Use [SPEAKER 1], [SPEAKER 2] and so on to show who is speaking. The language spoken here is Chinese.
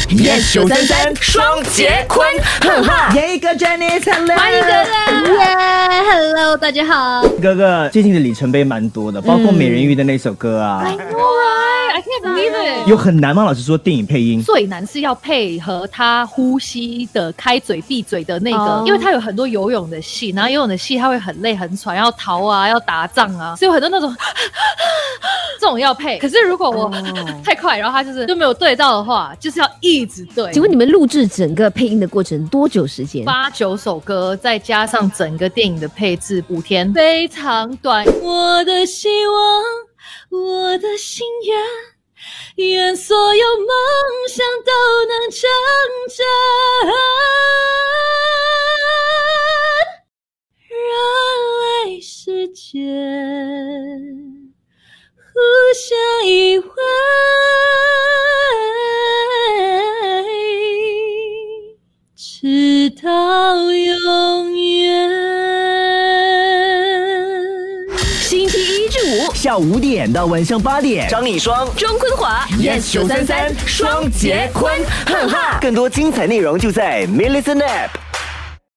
[SPEAKER 1] Yes 933双节坤，哈哈。
[SPEAKER 2] 耶哥 Janice，Hello，
[SPEAKER 3] 欢迎哥哥，耶 ，Hello， 大家好。
[SPEAKER 2] 哥哥最近的里程碑蛮多的，包括美人鱼的那首歌啊。
[SPEAKER 3] I know right, I can't believe it。
[SPEAKER 2] 有很难吗？老师说电影配音
[SPEAKER 3] 最难是要配合他呼吸的开嘴闭嘴的那个，因为他有很多游泳的戏，然后游泳的戏他会很累很喘，要逃啊，要打仗啊，所以有很多那种这种要配。可是如果我太快，然后他就没有对到的话，就是要一直对。
[SPEAKER 4] 请问你们录制整个配音的过程多久时间
[SPEAKER 3] ？8、9首歌，再加上整个电影的配置，5天，非常短。我的希望，我的心愿，愿所有梦想都能成真，让爱世界互相依偎，直到永远。
[SPEAKER 4] 星期一至五
[SPEAKER 2] 下午5点到晚上8点，
[SPEAKER 1] 张以双、
[SPEAKER 4] 庄坤华
[SPEAKER 1] Yes 933双节坤，哈哈。更多精彩内容就在 Millicent App。